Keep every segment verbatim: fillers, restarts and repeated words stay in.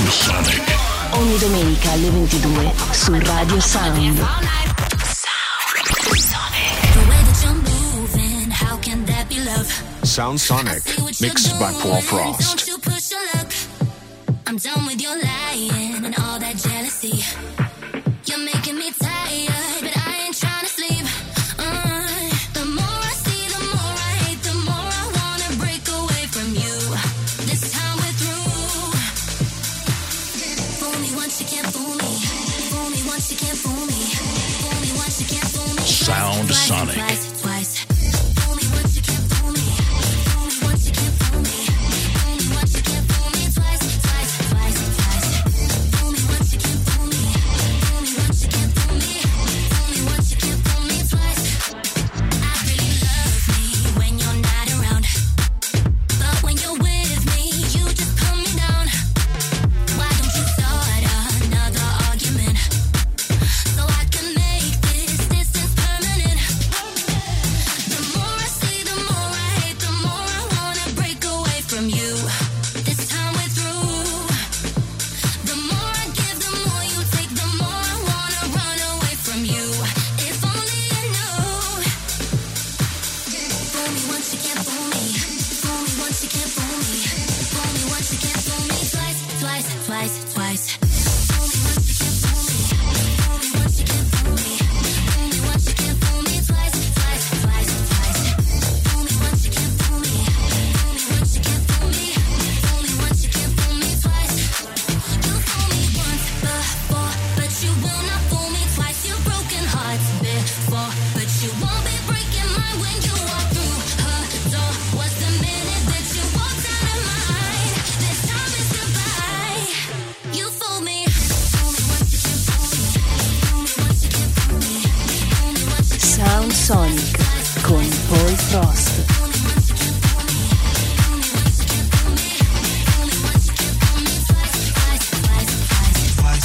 Sonic. Ogni domenica alle ventidue su Radio Sound. Sound Sonic, mixed by Paul Frost. I'm done with your lying and all that jealousy. You're making me tired, but I ain't trying to sleep. Uh, the more I see, the more I hate, the more I wanna break away from you. This time we're through. Fool me once, you can't fool me. Fool me once, you can't fool me. Fool me once, you can't fool me. Sound twice, Sonic. Twice, twice. Fool me once, you can't fool me. Fool me once, you can't fool me. Fool me once, you can't fool me. Twice, twice, twice, twice. Fool me once, you can't fool me. Fool me once, you can't fool me. Fool me once, you can't fool me. Twice. I really love me when you're not around, but when you're with me, you just pull me down. Why don't you start another argument so I can make this distance permanent? The more I see, the more I hate, the more I wanna break away from you. This time we're through. The more I give, the more you take, the more I wanna run away from you. If only you knew. Fool me once, you can't fool me. Fool me once, you can't fool me. Fool me once, you can't fool me. Twice, twice, twice, twice. Fool me once, you can't fool me. Fool me once, you can't fool me. Fool me once, you can't fool me. Twice, twice, twice, twice. Fool me once, you can't fool me. Fool me once, you can't fool me. Fool me once, you can't fool me. Twice. You fool me once before, but you will not fool me twice. You've broken hearts before, but you won't be breaking mine when you walk through her door. Was the minute that you walked out of mine. This time is goodbye. You fool me. Fool me once, you can't fool me. Fool me once, you can't fool me. Fool me once, you can't Sound Sonic con Paul Frost. fool me once, you can't fool me. Fool me once, you can't fool me. Fool me once, you can't fool me. Twice, twice, twice, twice.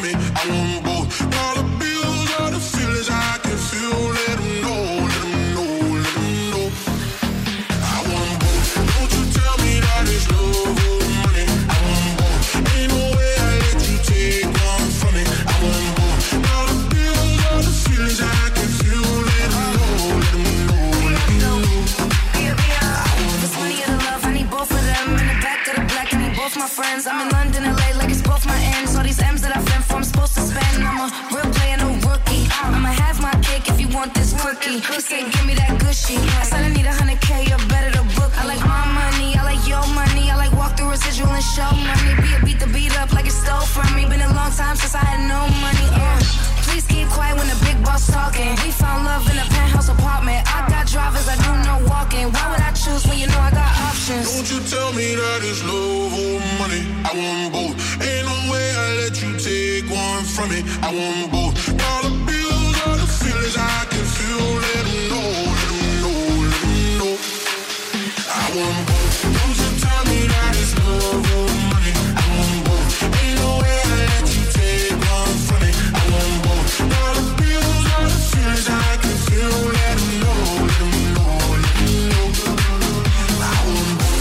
from me. I want both. All the bills, all the feelings I can feel. Let them know, let them know, let them know. I want both. Don't you tell me that it's love or money. I want both. Ain't no way I let you take one from me. I want both. All the bills, all the feelings I can feel. Let them know, let them know, let them know. This money or the love, I need both of them. In the back of the black, I need both my friends. I'm in London, L A, like it's both my ends. All these M's that I've been for, I'm supposed to spend. I'm a real player, no rookie. I'ma have my cake if you want this cookie. He said, give me that gushy. I said I need a hundred K, you're better to book. I like my money, I like your money. I like walk through residual and show money. Be a beat the beat up like it stole from me. Been a long time since I had no money. Uh, please keep quiet when the big boss talking. We found love in a penthouse apartment. I got drivers, I do no walking. Why would I choose when you know I got options? Don't you tell me that it's love or money. I want both. Ain't no way I let you take one from me. I want both. All the bills, all the feelings I can feel. Let them know, let them know, let them know. I want both. Don't you tell me that it's love or money. I want both. Ain't no way I let you take one from me. I want both. All the bills, all the feelings I can feel. Let them know, let them know, let them know. I want both.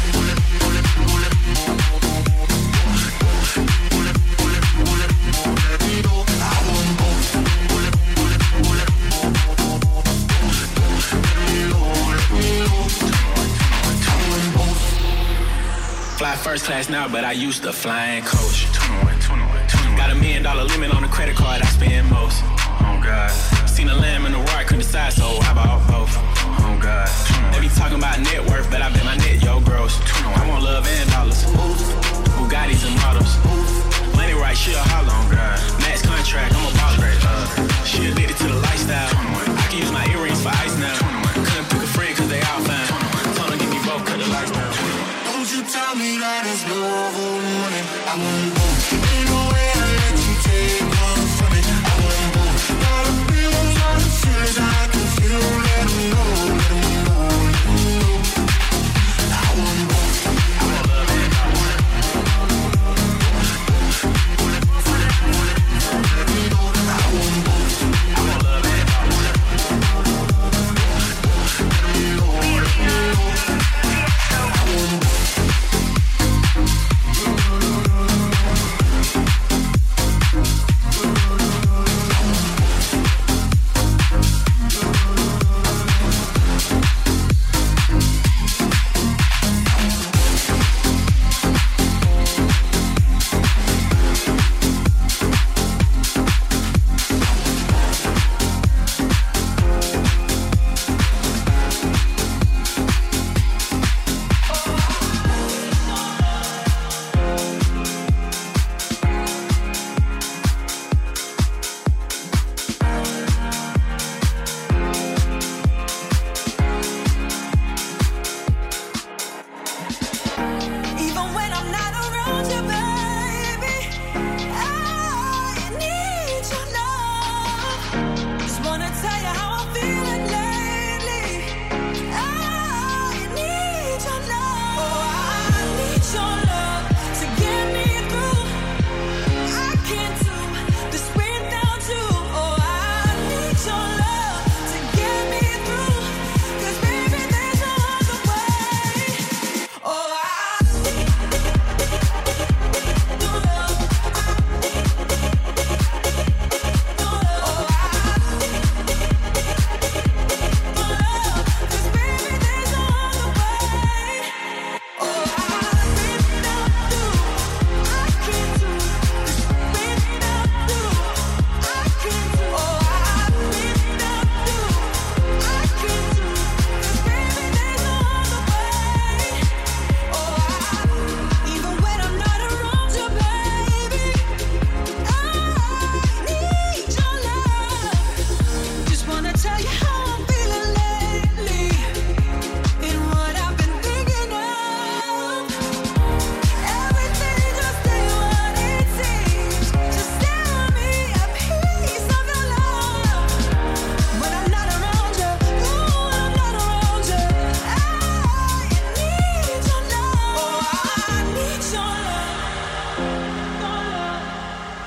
Fly first class now, but I used to flying coach. Got a million dollar limit on the credit card, I spend most. Oh God. Seen a lamb in the roar, couldn't decide, so I bought both. Oh God. They be talking about net worth, but I bet my net, yo, gross. I want love and dollars. Bugattis and models. Money right, she a holler. Oh God. Max contract, I'm a boss. Uh, she addicted to the lifestyle. I can use my earrings for ice now. Couldn't pick a friend cause they all fine. Told her give me both, cut the lights down. Don't you tell me that it's love or money. I want both. Ain't no way I let you take one from me. I want both. All the bills, all the feelings I can feel. Let them know, let them know, let them know.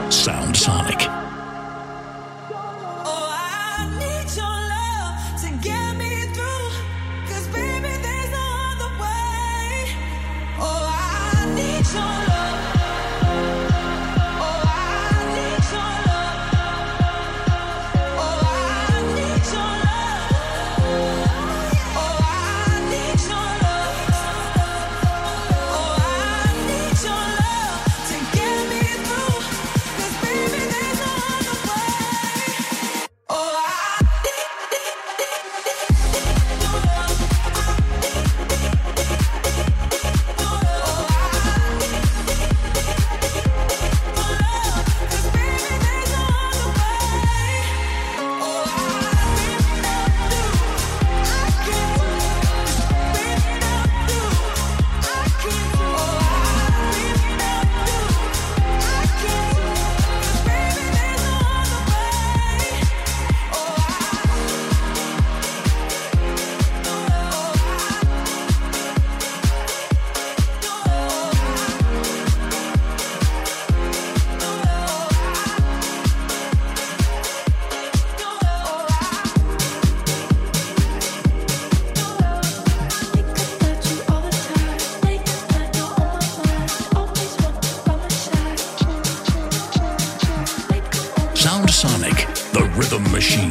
Sound Sonic. Sonic, the rhythm machine.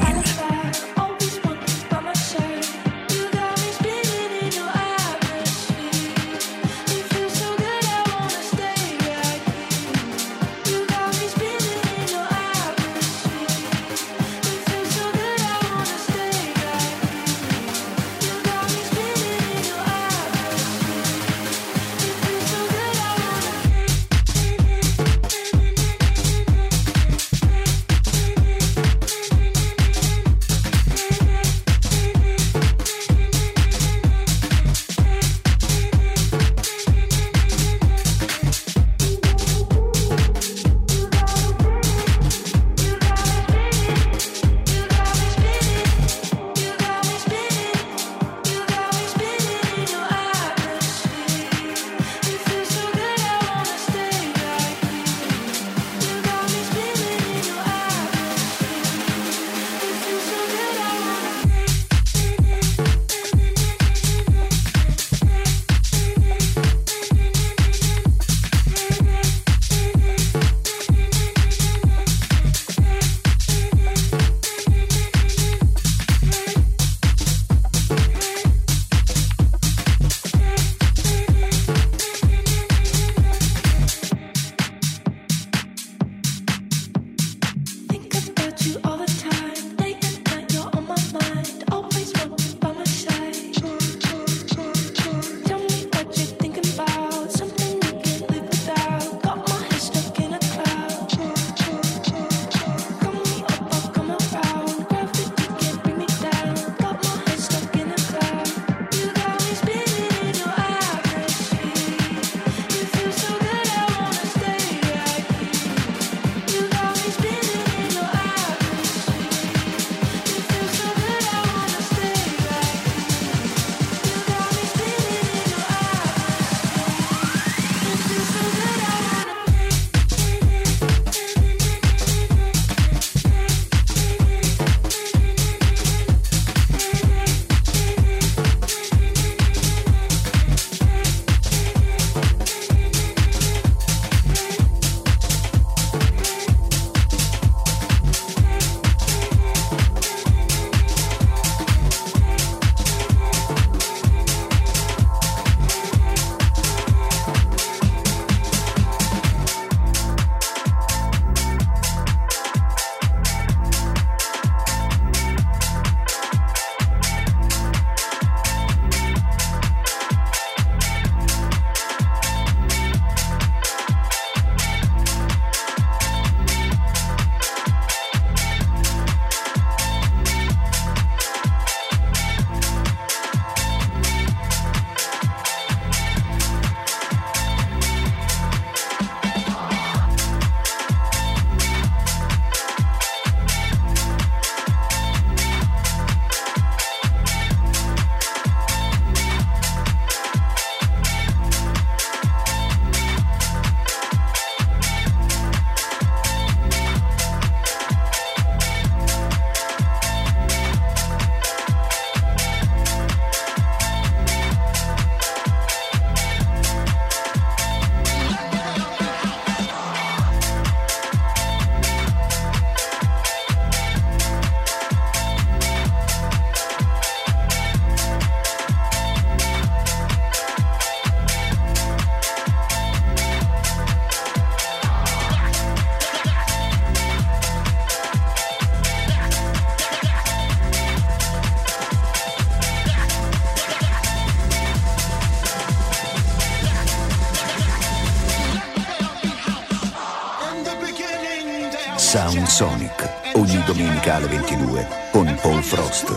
Sound Sonic, ogni domenica alle ventidue con Paul Frost.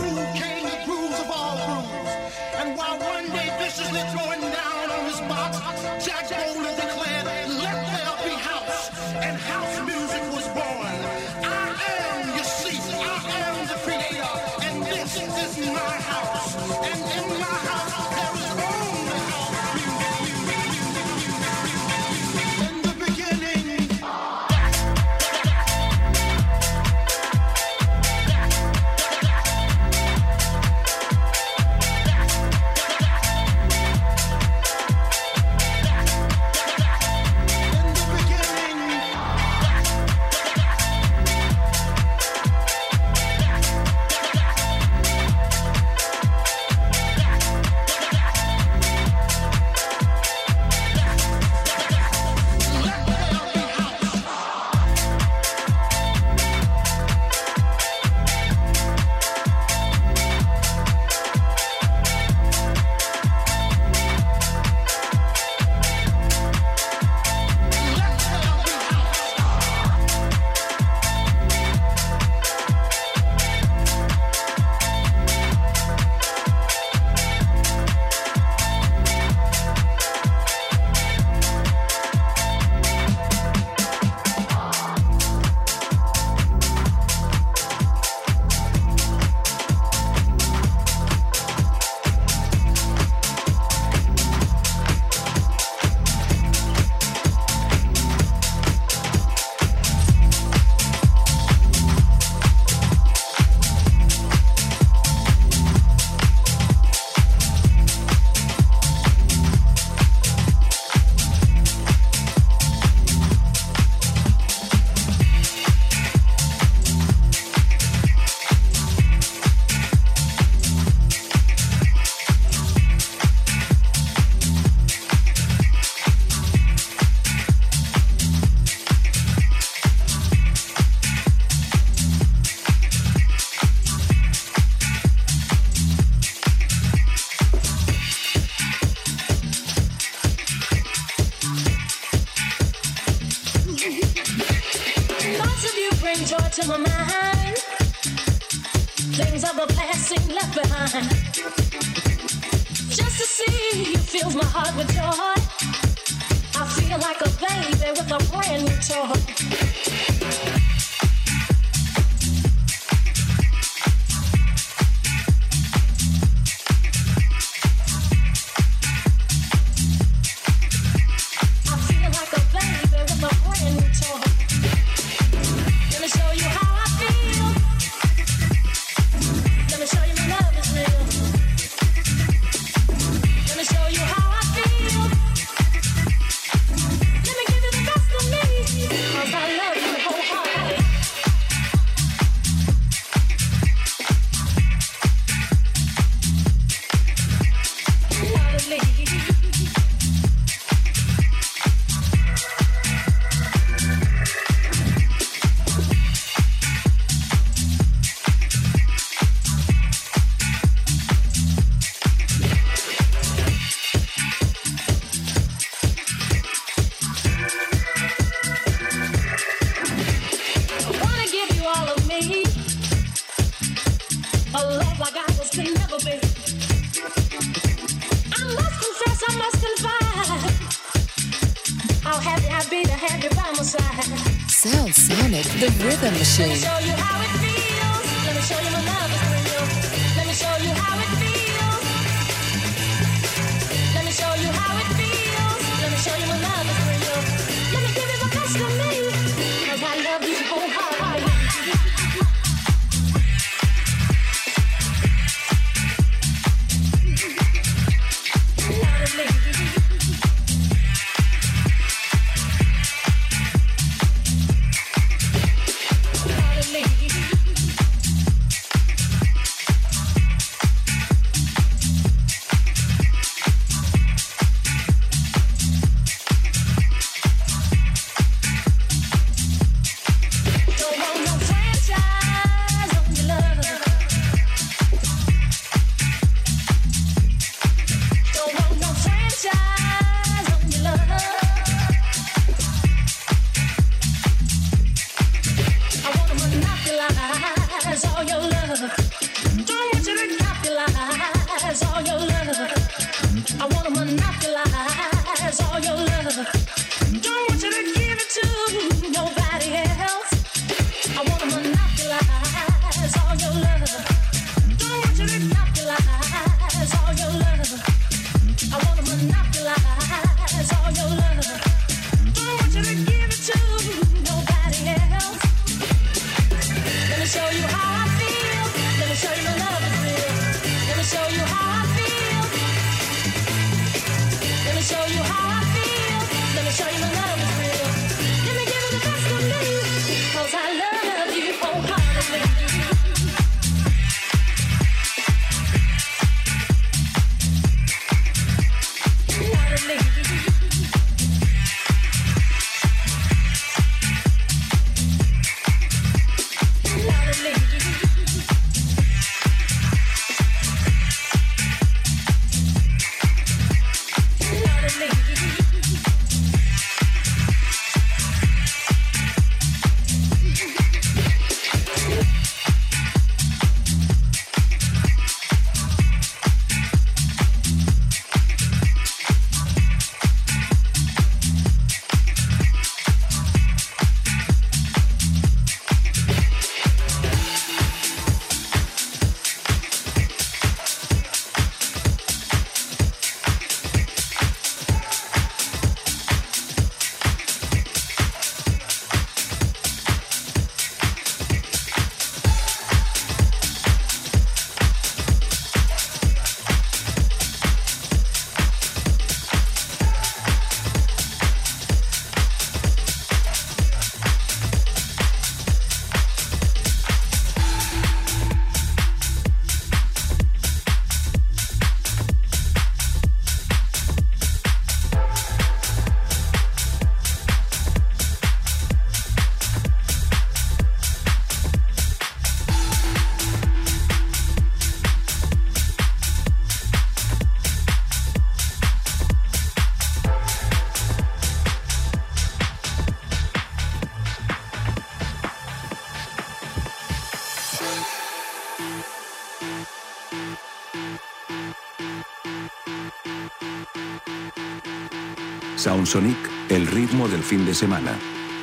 To my mind, things of the past seem left behind. Just to see you fills my heart with joy. I feel like a baby with a brand new toy. Sound Sonic, the rhythm machine. Let me show you how it feels. Let me show you my love is real. Let me show you how it feels. Let me show you how it feels. Let me show you my love is real. Let me give you the best of me, 'cause I love you wholeheartedly. Heartedly. Sound Sonic, el ritmo del fin de semana.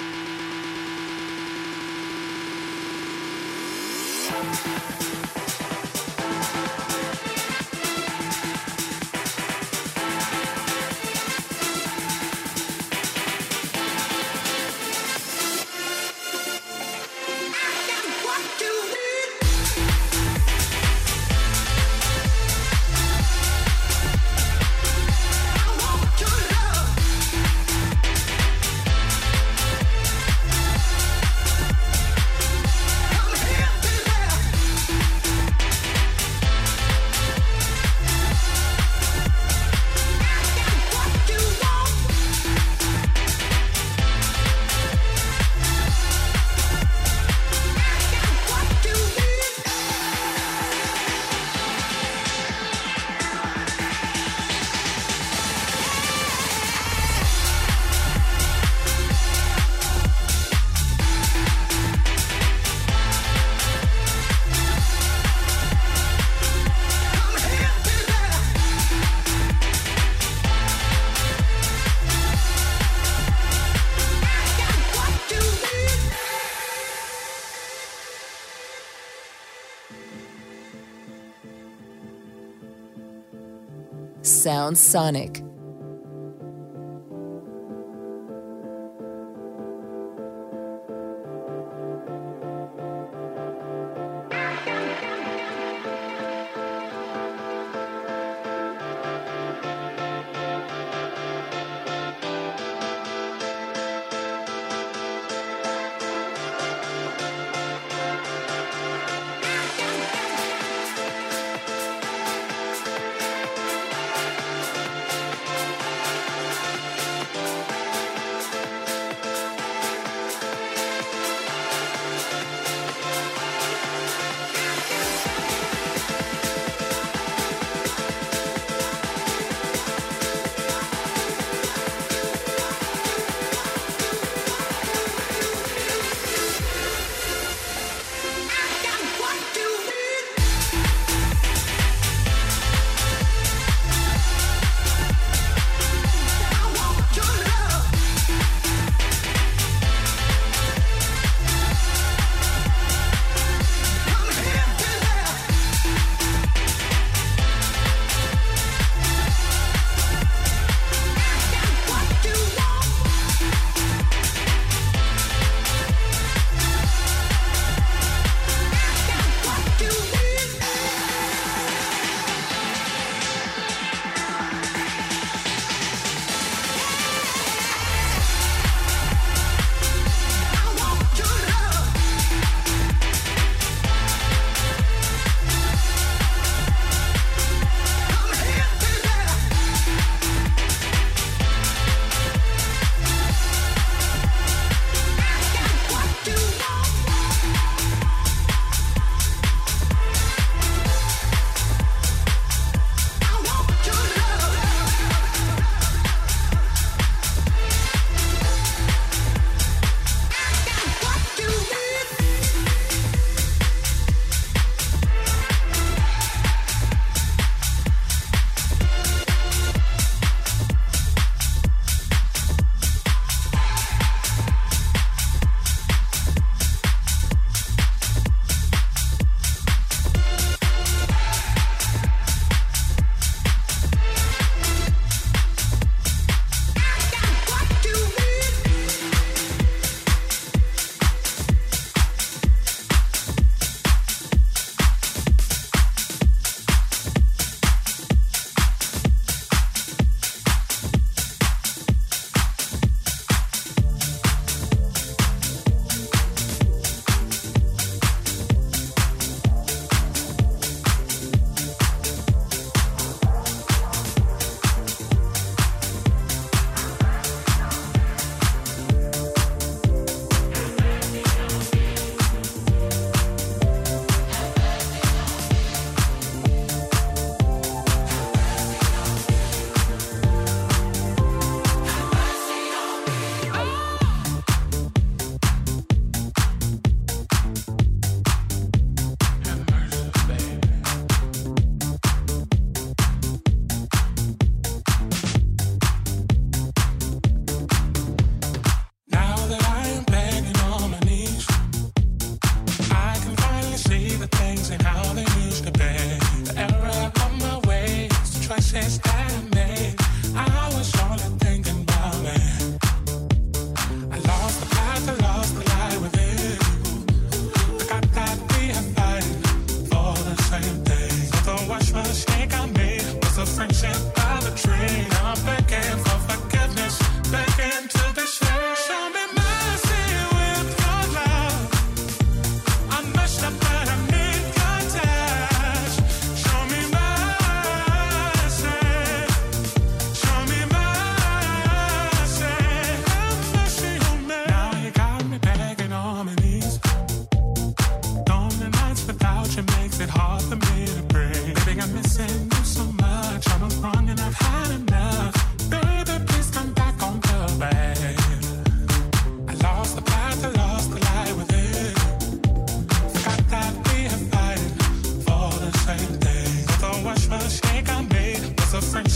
Sound Sonic.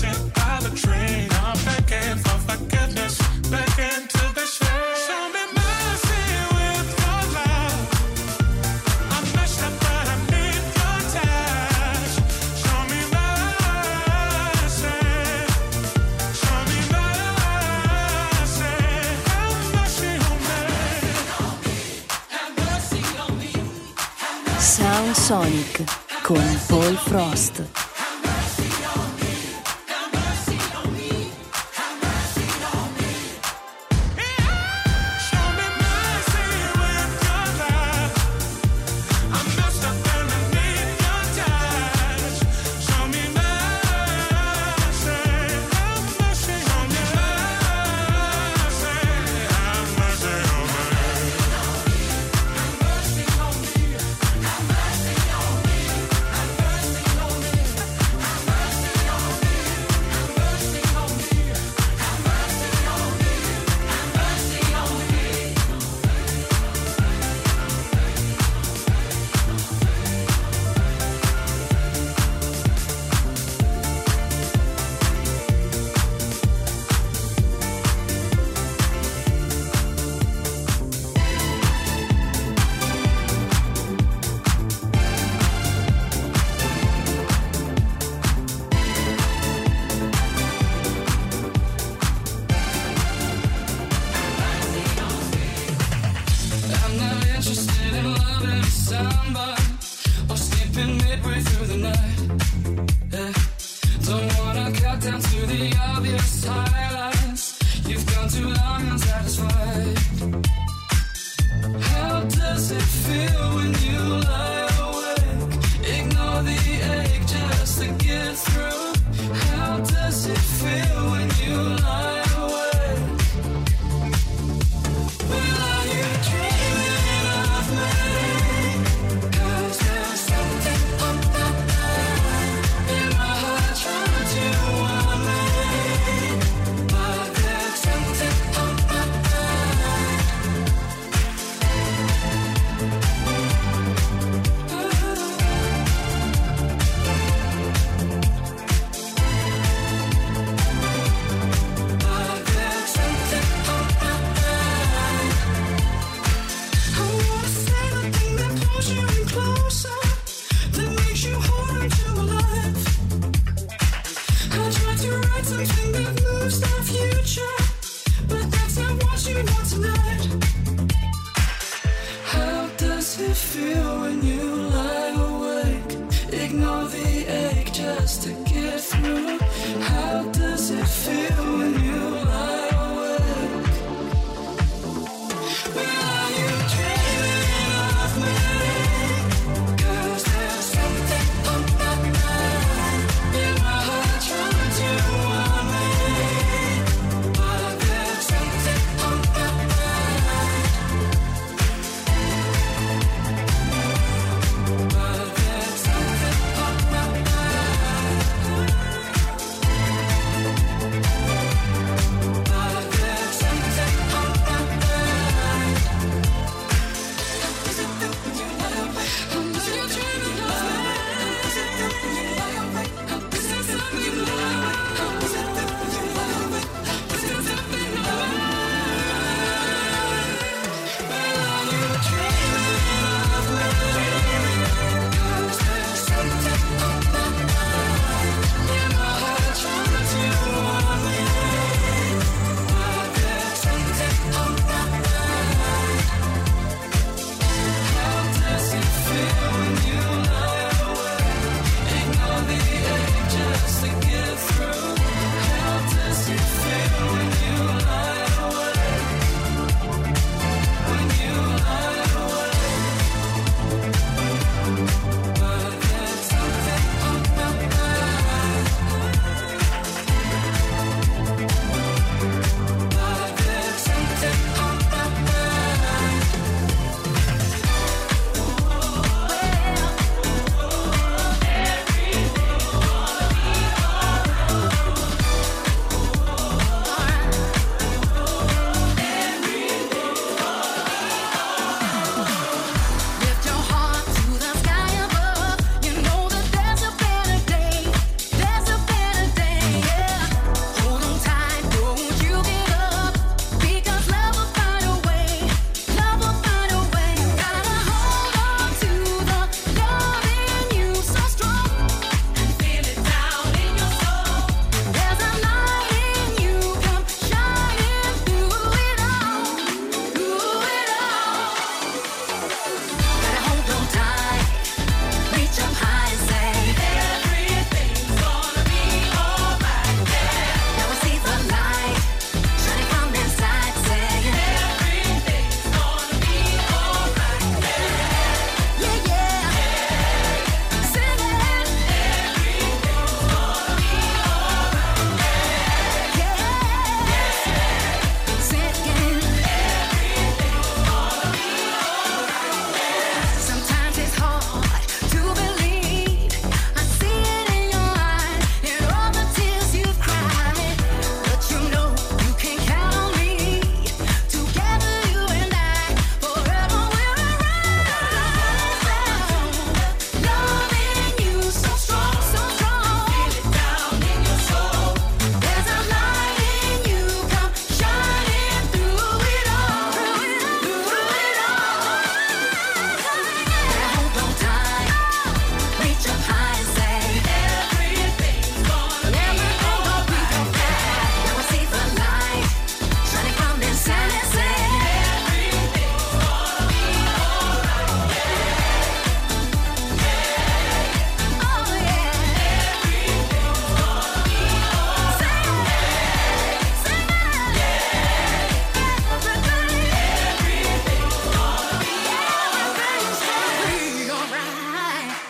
hit by the train. I'm begging for forgiveness, begging to be saved. Show me mercy with your love. I'm messed up, but I need your touch. Show me mercy. Show me mercy. Have mercy on me. Have mercy on me. Sound Sonic con Paul Frost.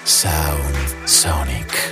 Sound Sonic.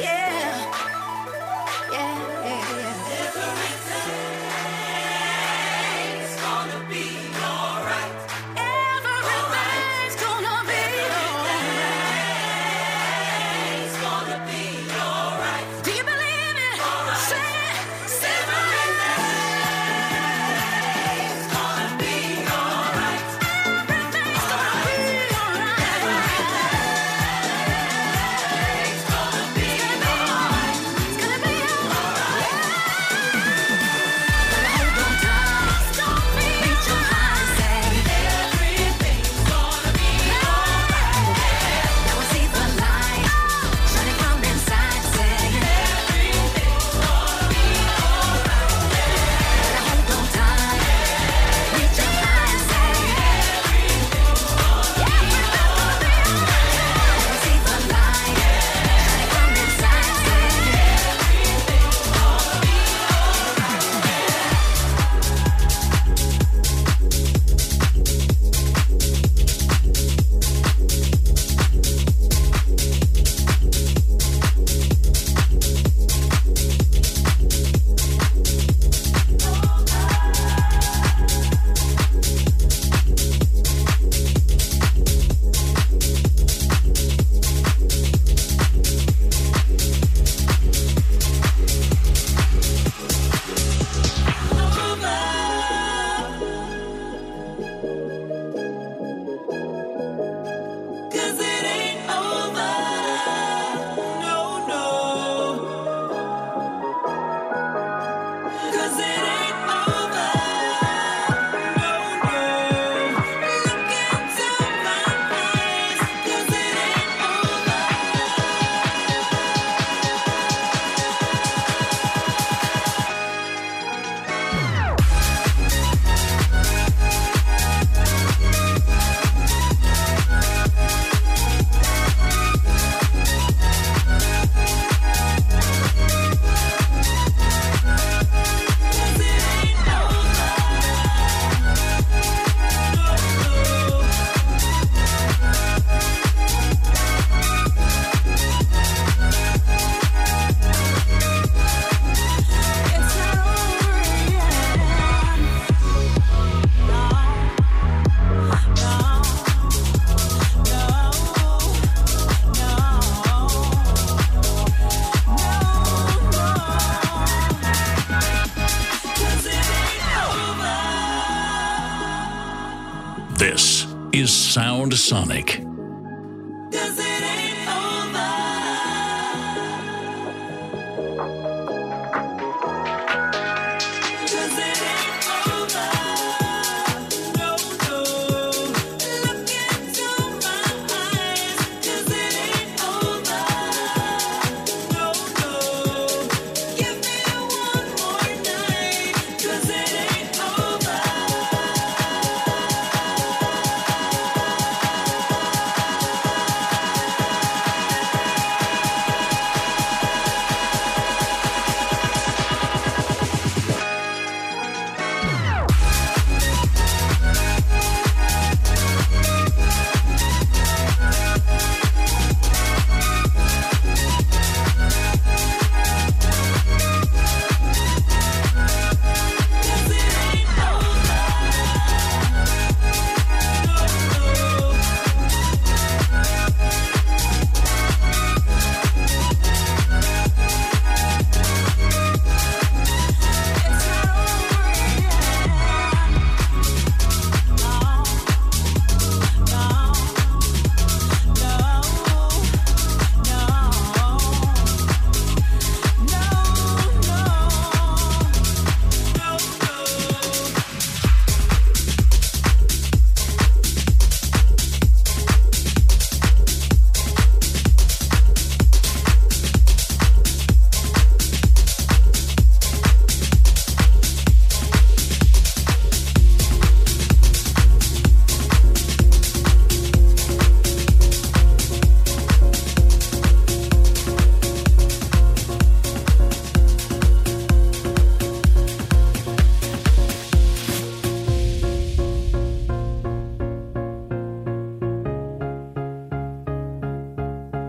This is Sound Sonic.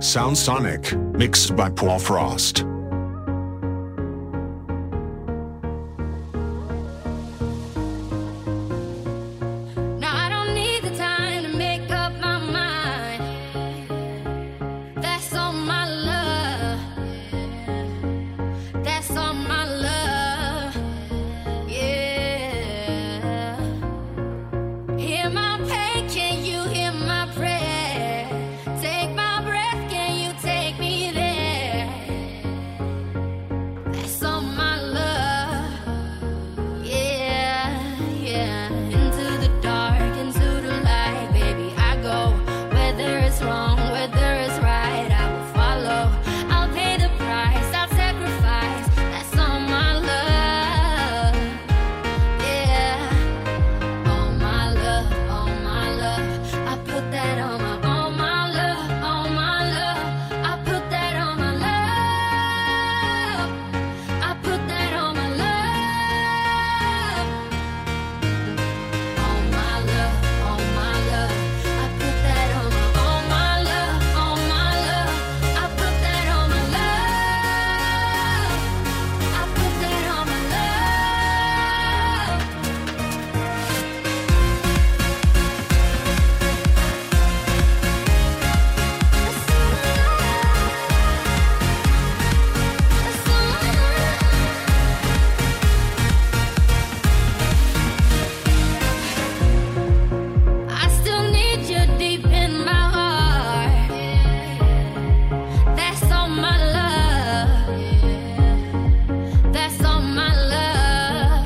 Sound Sonic, mixed by Paul Frost. Now I don't need the time to make up my mind. That's all my love. That's all my love. Yeah. Hear my pain, can you hear my prayer? Take my breath, can you take me there? That's all my love. Yeah, yeah. Into the dark, into the light, baby, I go. Whether it's wrong, whether it's right, I will follow. I'll pay the price, I'll sacrifice. That's all my love. Yeah. All my love, all my love. I put that on my, all my love, all my love. I put that on my love. I put that on my love. All my love, all my love. I put that on my, all my love, all my love. I put that on my love. I put that on my love. I still need you deep in my heart. That's all my love. That's all my love.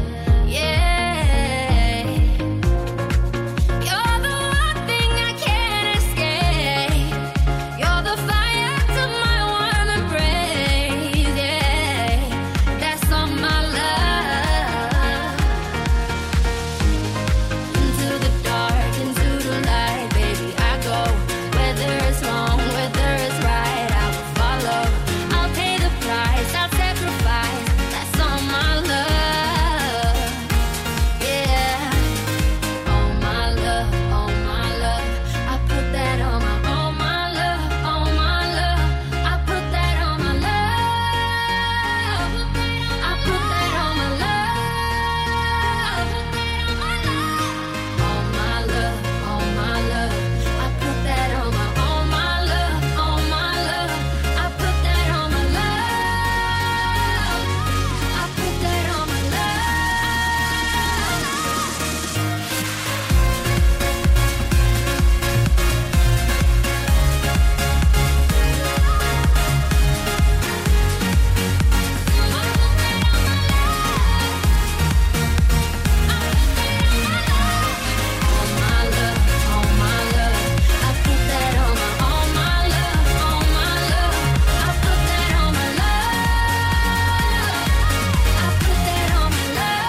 Yeah. You're the one thing I can't escape. You're the fire to my warm embrace. Yeah. That's all my love. Into the dark, into the light, baby, I go. Whether it's wrong, whether it's right, I will follow. I'll pay the price, I'll sacrifice. That's all my love. Yeah. All my love, all my love. I put that on my, all my love, all my love. I put that on my love. I put that on my love. All my love, all my love. I put that on my, all my love, all my love. I put that on my love. I put that on my love. All my love, all my love. I put that on my, all my love, all my love. I put that on my love. I put that on my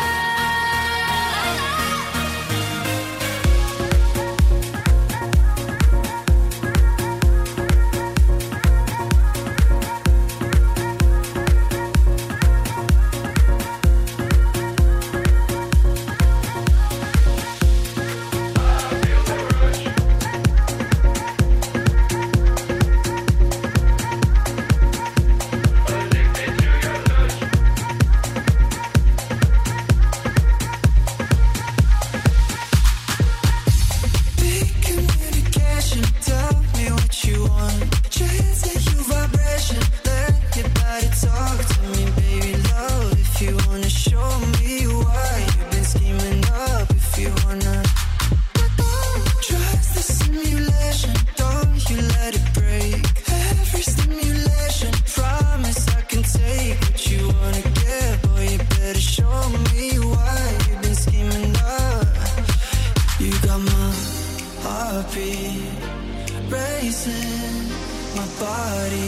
Big communication, tell me what you want. Chasing your vibration, let your body talk to me, baby love. If you wanna show me why you've been scheming up, if you wanna trust the simulation, don't you let it break. Every stimulation, promise I can take what you wanna get, boy. You better show me why you've been scheming up. You got my heartbeat racing, my body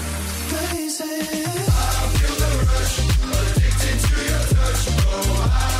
racing. I feel the rush, addicted to your touch. Oh, I